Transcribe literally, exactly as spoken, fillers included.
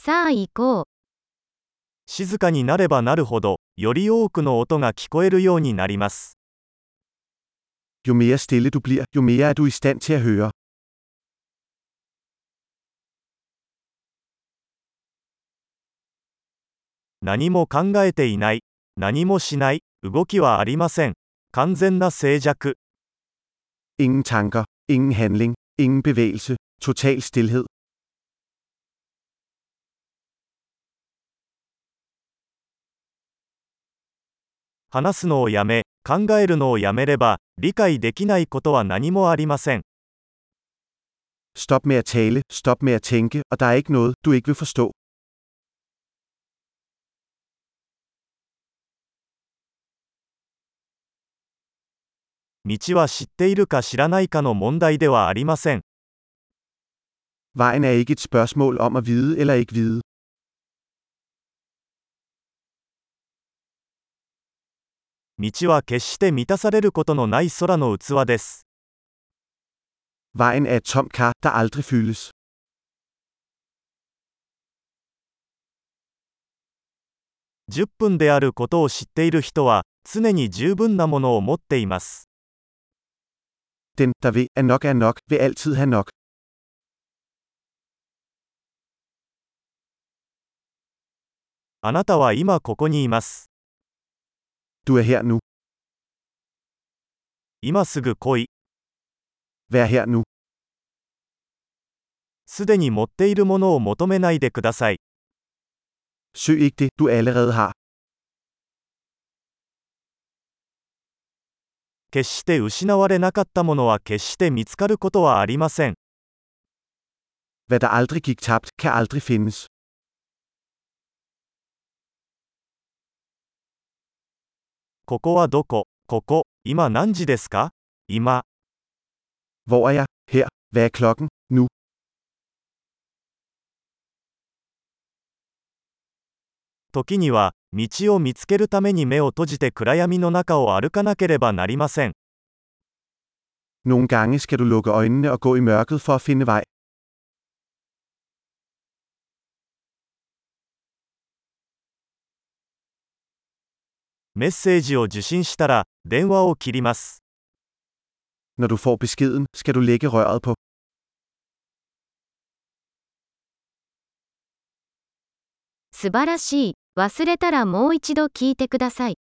さあ行こう。 静かになればなるほど、より多くの音が聞こえるようになります。 Jo mere stille du bliver, jo mere er du i stand til at høre. 何も考えていない。何もしない。動きはありません。完全な静寂。 Ingen tanker, ingen handling, ingen bevægelse, total stilhed. 話すのをやめ、考えるのをやめれば、理解できないことは何もありません。 Stop med at tale, stop med at tænke, og der er ikke noget, du ikke vil forstå. 道は知っているか知らないかの問題ではありません。 Vejen er ikke et spørgsmål om at vide eller ikke vide. 道は決して満たされることのない空の器です。 Vejen er et tomt kar, der aldrig fyldes. じゅっぷんであることを知っている人は、常に十分なものを持っています。 Den, der ved, at nok er nok, vil altid have nok. あなたは今ここにいます。 Du er her nu. 今すぐ来い。 Vær her nu. すでに持っているものを求めないでください。 Søg ikke det, du allerede har. 決して失われなかったものは決して見つかることはありません。 Hvad der aldrig gik tabt, kan aldrig findes. ここはどこ？ここ、今何時ですか？今。 Hvor er jeg? Her. Hvad er klokken? Nu. 時には、道を見つけるために目を閉じて暗闇の中を歩かなければなりません。 Nogle gange skal du lukke øjnene og gå i mørket for at finde vej. メッセージを受信したら、電話を切ります。 Når du får beskeden, skal du lægge røret på. 素晴らしい。忘れたらもう一度聞いてください。